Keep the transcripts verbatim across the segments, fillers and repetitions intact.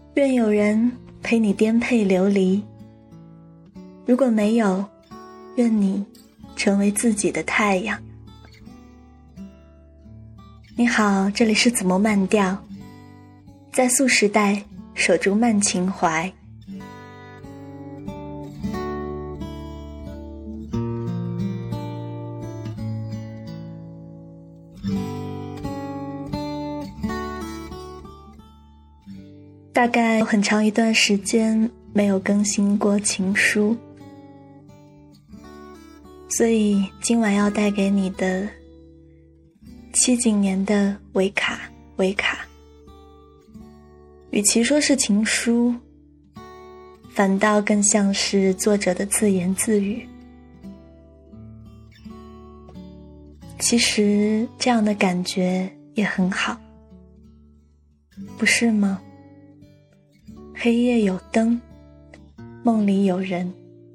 愿有人陪你颠沛流离，如果没有，愿你成为自己的太阳。你好，这里是子墨慢调，在素时代守住慢情怀。大概有很长一段时间没有更新过情书，所以今晚要带给你的七几年的维卡维卡，与其说是情书，反倒更像是作者的自言自语。其实这样的感觉也很好，不是吗？黑夜有灯，梦里有人。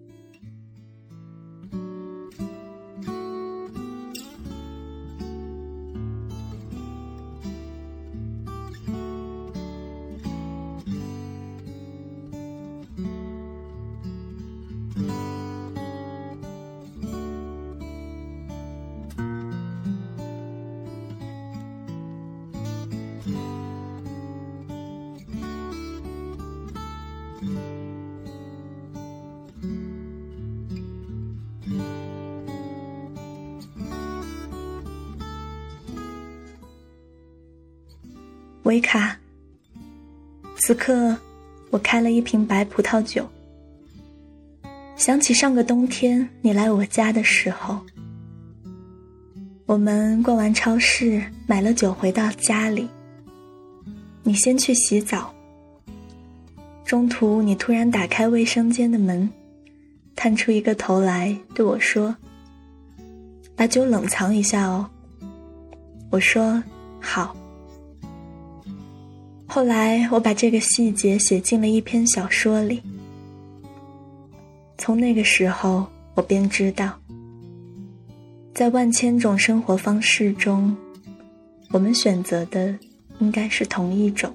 维卡，此刻我开了一瓶白葡萄酒，想起上个冬天你来我家的时候，我们逛完超市买了酒回到家里，你先去洗澡，中途你突然打开卫生间的门，探出一个头来对我说，把酒冷藏一下哦。我说好。后来我把这个细节写进了一篇小说里，从那个时候我便知道，在万千种生活方式中，我们选择的应该是同一种。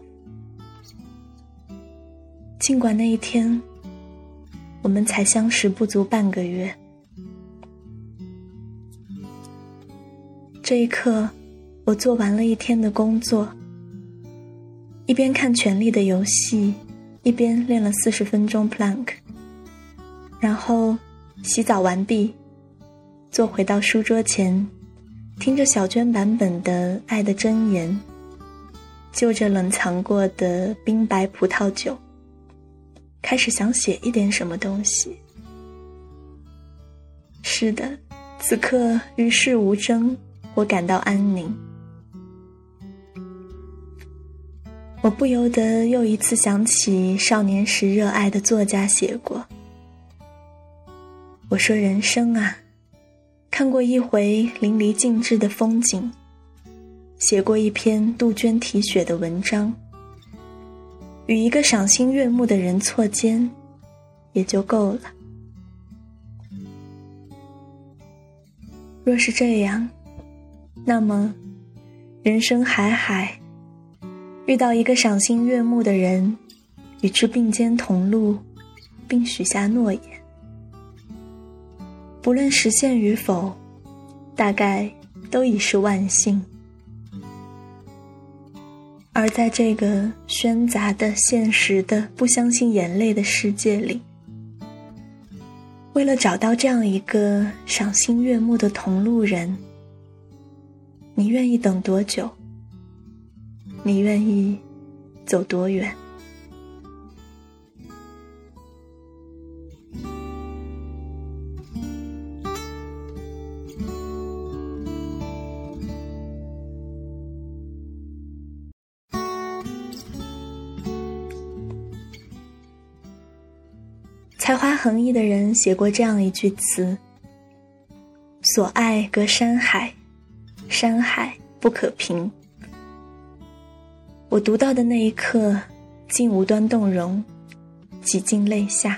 尽管那一天我们才相识不足半个月，这一刻我做完了一天的工作，一边看《权力的游戏》，一边练了四十分钟 plank， 然后洗澡完毕，坐回到书桌前，听着小娟版本的《爱的箴言》，就着冷藏过的冰白葡萄酒，开始想写一点什么东西。是的，此刻与世无争，我感到安宁。我不由得又一次想起少年时热爱的作家写过，我说人生啊，看过一回淋漓尽致的风景，写过一篇杜鹃啼血的文章，与一个赏心悦目的人错肩也就够了。若是这样，那么人生海海，遇到一个赏心悦目的人，与之并肩同路，并许下诺言，不论实现与否，大概都已是万幸。而在这个喧杂的、现实的、不相信眼泪的世界里，为了找到这样一个赏心悦目的同路人，你愿意等多久？你愿意走多远？才华横溢的人写过这样一句词，所爱隔山海，山海不可平。我读到的那一刻，竟无端动容，几近泪下。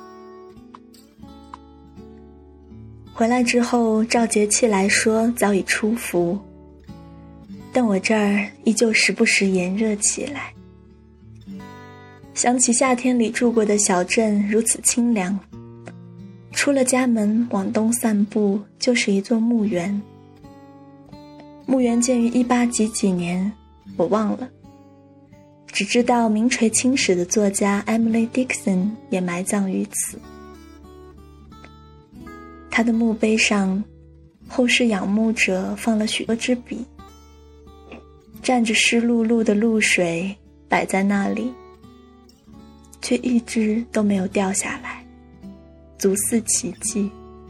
回来之后，照节气来说早已出伏，但我这儿依旧时不时炎热起来。 想起夏天里住过的小镇如此清凉，出了家门往东散步就是一座墓园。墓园建于一八几几年，我忘了，只知道名垂青史的作家 Emily Dickinson 也埋葬于此。他的墓碑上，后世仰慕者放了许多支笔，蘸着湿漉漉的露水摆在那里，却一支都没有掉下来，足似奇迹。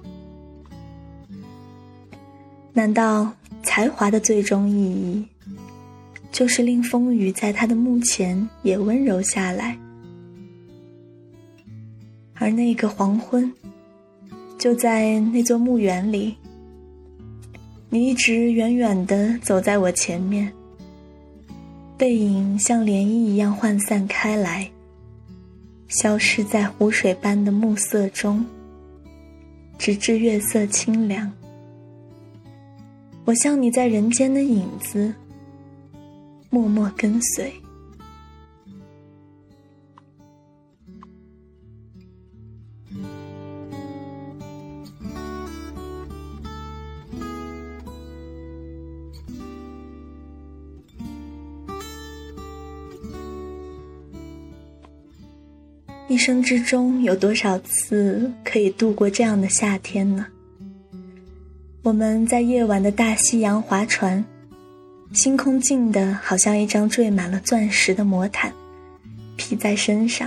难道才华的最终意义，就是令风雨在他的墓前也温柔下来？而那个黄昏，就在那座墓园里，你一直远远地走在我前面，背影像涟漪一样涣散开来，消失在湖水般的暮色中，直至月色清凉。我像你在人间的影子，默默跟随。一生之中有多少次可以度过这样的夏天呢？我们在夜晚的大西洋划船，星空静的好像一张缀满了钻石的魔毯，披在身上。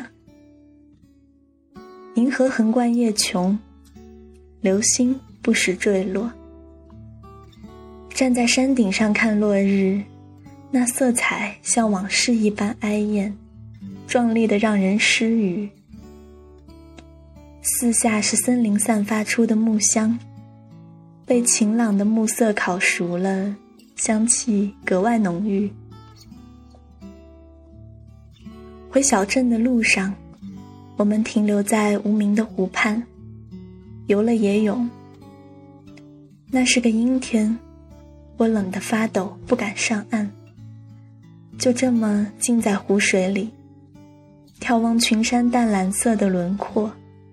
银河横贯夜穹，流星不时坠落。站在山顶上看落日，那色彩像往事一般哀艳，壮丽的让人失语。四下是森林散发出的木香，被晴朗的暮色烤熟了，香气格外浓郁。回小镇的路上，我们停留在无名的湖畔，游了野泳。那是个阴天，我冷得发抖，不敢上岸，就这么浸在湖水里，眺望群山淡蓝色的轮廓。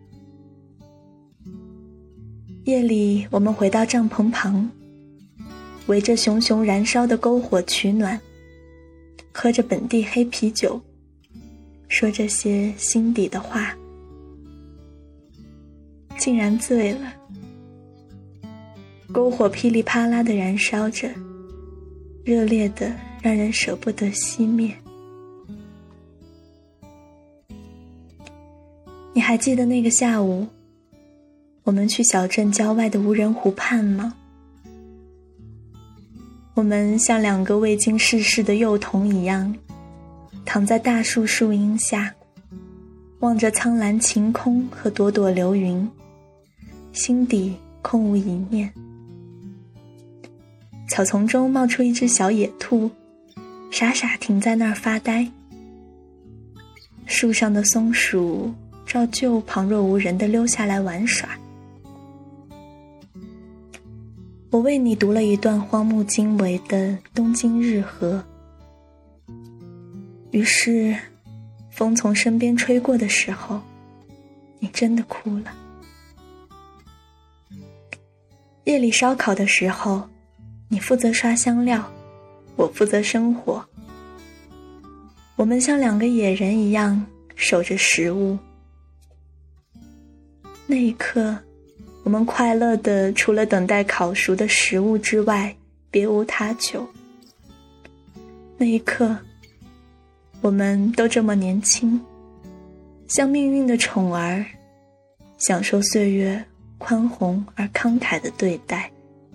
夜里，我们回到帐篷旁，围着熊熊燃烧的篝火取暖，喝着本地黑啤酒，说这些心底的话，竟然醉了。篝火噼里啪啦地燃烧着，热烈的让人舍不得熄灭。你还记得那个下午，我们去小镇郊外的无人湖畔吗？我们像两个未经世事的幼童一样，躺在大树树荫下，望着苍蓝晴空和朵朵流云，心底空无一念。草丛中冒出一只小野兔，傻傻停在那儿发呆。树上的松鼠照旧旁若无人地溜下来玩耍。我为你读了一段荒木经惟的《东京日和》，于是风从身边吹过的时候，你真的哭了。夜里烧烤的时候，你负责刷香料，我负责生火。我们像两个野人一样守着食物。那一刻，我们快乐的除了等待烤熟的食物之外，别无他求。那一刻，我们都这么年轻，像命运的宠儿，享受岁月宽宏而慷慨的对待。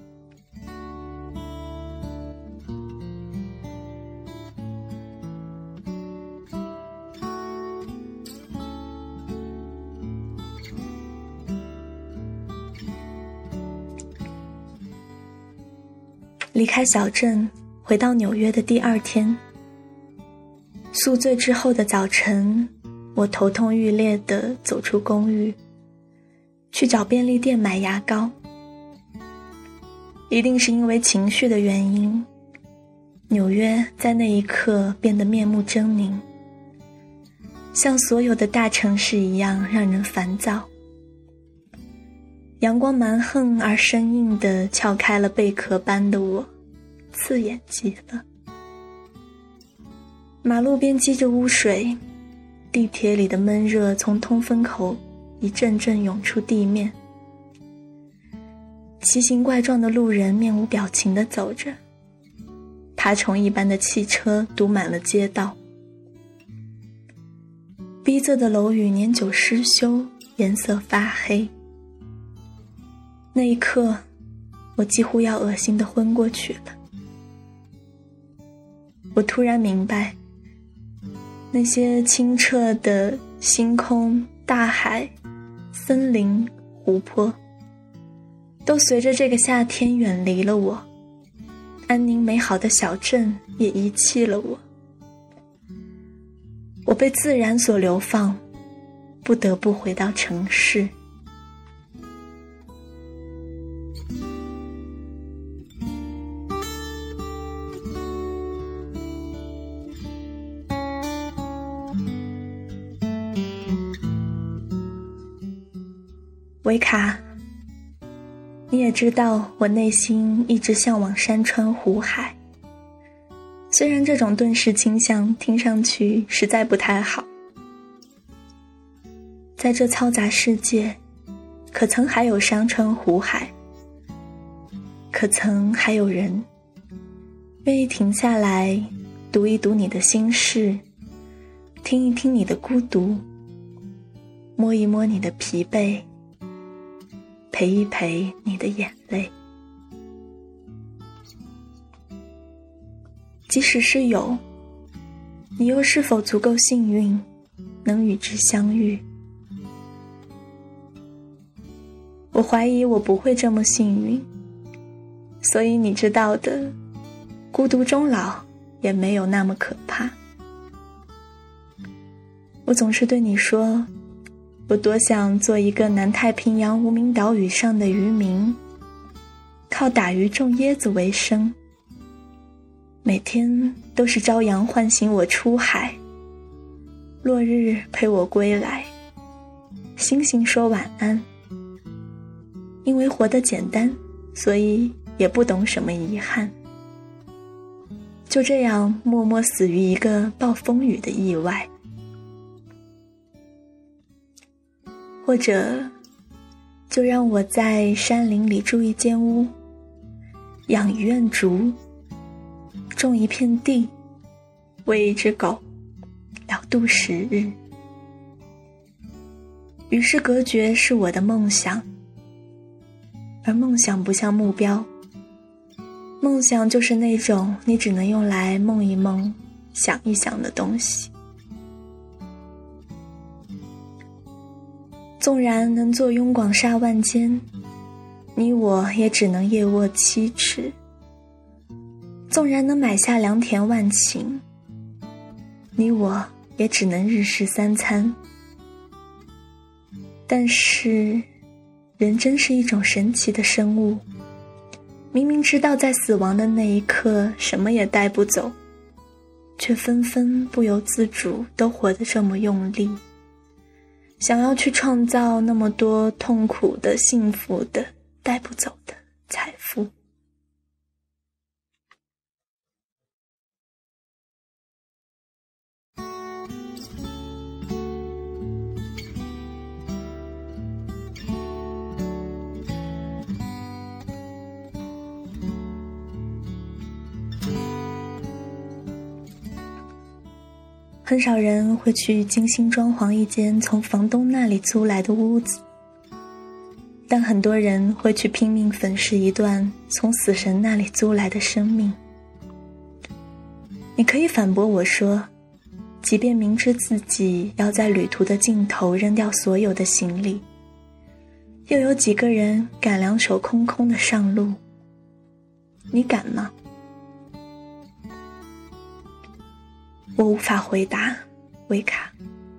离开小镇，回到纽约的第二天，宿醉之后的早晨，我头痛欲裂地走出公寓，去找便利店买牙膏。一定是因为情绪的原因，纽约在那一刻变得面目狰狞。 像所有的大城市一样让人烦躁。阳光蛮横而生硬地撬开了贝壳般的我，刺眼极了。马路边积着污水，地铁里的闷热从通风口一阵阵涌出地面。奇形怪状的路人面无表情地走着，爬虫一般的汽车堵满了街道。逼仄的楼宇年久失修，颜色发黑。那一刻，我几乎要恶心地昏过去了。我突然明白，那些清澈的星空、大海、森林、湖泊，都随着这个夏天远离了我，安宁美好的小镇也遗弃了我。我被自然所流放，不得不回到城市。维卡，你也知道我内心一直向往山川湖海，虽然这种顿时倾向听上去实在不太好。在这嘈杂世界，可曾还有山川湖海？可曾还有人愿意停下来读一读你的心事，听一听你的孤独，摸一摸你的疲惫，陪一陪你的眼泪？即使是有，你又是否足够幸运，能与之相遇？我怀疑我不会这么幸运，所以你知道的，孤独终老也没有那么可怕。我总是对你说，我多想做一个南太平洋无名岛屿上的渔民，靠打鱼种椰子为生，每天都是朝阳唤醒我出海，落日陪我归来，星星说晚安。因为活得简单，所以也不懂什么遗憾，就这样默默死于一个暴风雨的意外。或者就让我在山林里住一间屋，养一院竹，种一片地，喂一只狗，了度时日。与世隔绝是我的梦想，而梦想不像目标，梦想就是那种你只能用来梦一梦、想一想的东西。纵然能坐拥广厦万间，你我也只能夜卧七尺；纵然能买下良田万顷，你我也只能日食三餐。但是人真是一种神奇的生物，明明知道在死亡的那一刻什么也带不走，却纷纷不由自主都活得这么用力，想要去创造那么多痛苦的、幸福的、带不走的财富。很少人会去精心装潢一间从房东那里租来的屋子，但很多人会去拼命粉饰一段从死神那里租来的生命。你可以反驳我说，即便明知自己要在旅途的尽头扔掉所有的行李，又有几个人敢两手空空的上路？你敢吗？我无法回答，维卡。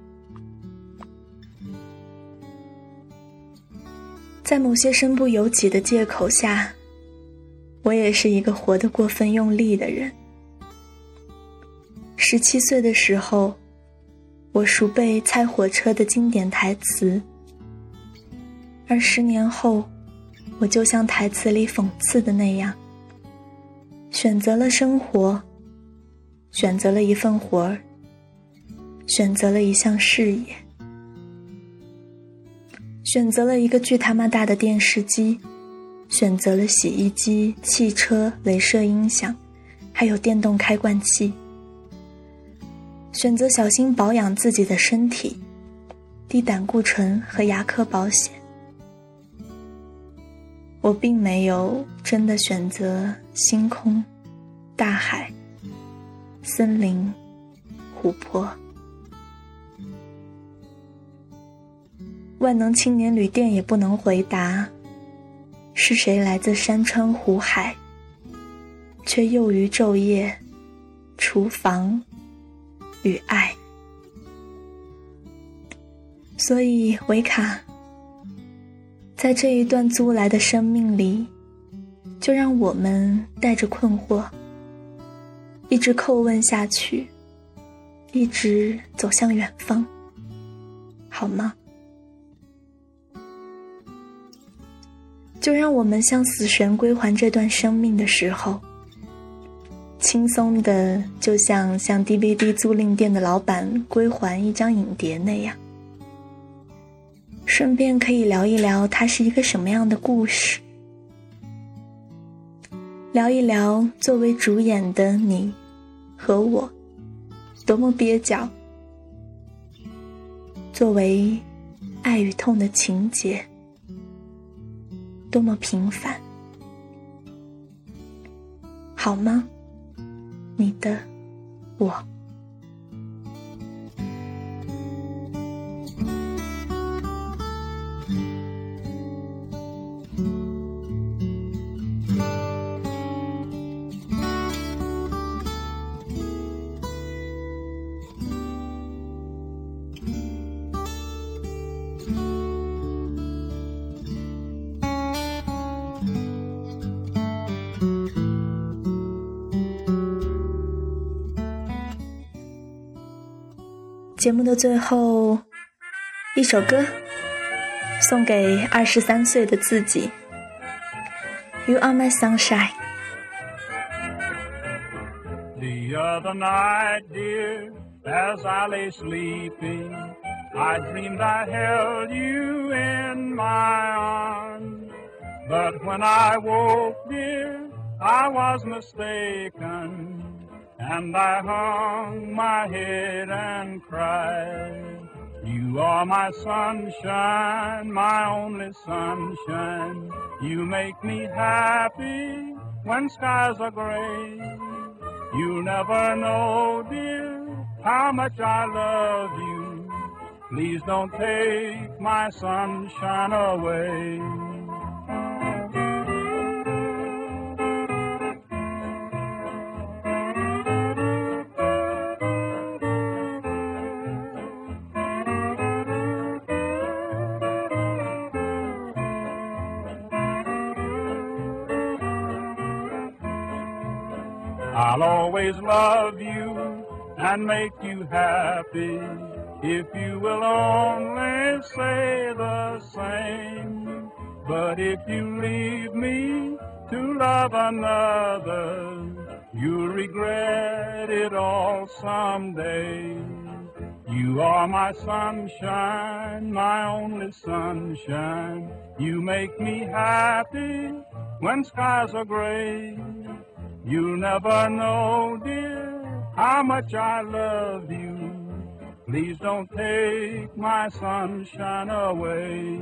在某些身不由己的借口下，我也是一个活得过分用力的人。十七岁的时候，我我熟背猜火车的经典台词，而十年后，我就像台词里讽刺的那样，选择了生活，选择了一份活儿，选择了一项事业，选择了一个巨他妈大的电视机，选择了洗衣机、汽车、雷射音响，还有电动开罐器，选择小心保养自己的身体，低胆固醇和牙科保险。我并没有真的选择星空、大海、森林、湖泊。万能青年旅店也不能回答，是谁来自山川湖海，却囿于昼夜、厨房与爱。所以维卡，在这一段租来的生命里，就让我们带着困惑，一直叩问下去，一直走向远方，好吗？就让我们向死神归还这段生命的时候，轻松的就像向 D V D 租赁店的老板归还一张影碟那样，顺便可以聊一聊它是一个什么样的故事，聊一聊作为主演的你和我多么蹩脚，作为爱与痛的情节多么平凡，好吗？你的我。节目的最后，一首歌送给二十三岁的自己。 You are my sunshine。 The other night, dear, as I lay sleeping, I dreamed I held you in my arms. But when I woke, dear, I was mistaken, and I hung my head and cried. You are my sunshine, my only sunshine. You make me happy when skies are gray. You never know, dear, how much I love you. Please don't take my sunshine away. I'll always love you and make you happy if you will only say the same. But if you leave me to love another, you'll regret it all someday. You are my sunshine, my only sunshine. You make me happy when skies are gray. You'll never know, dear, how much I love you. Please don't take my sunshine away.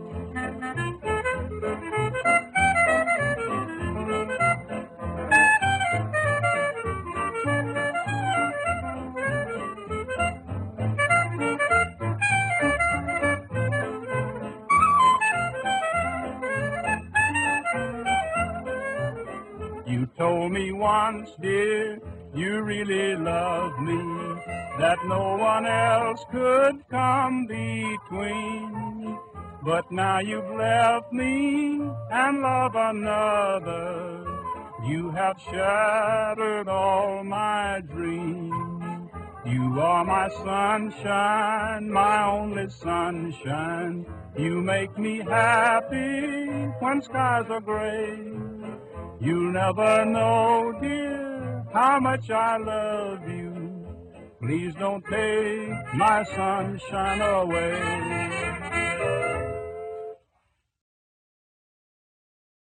You told me once, dear, you really loved me, that no one else could come between. But now you've left me and love another. You have shattered all my dreams. You are my sunshine, my only sunshine. You make me happy when skies are gray. You'll never know, dear, how much I love you. Please don't take my sunshine away.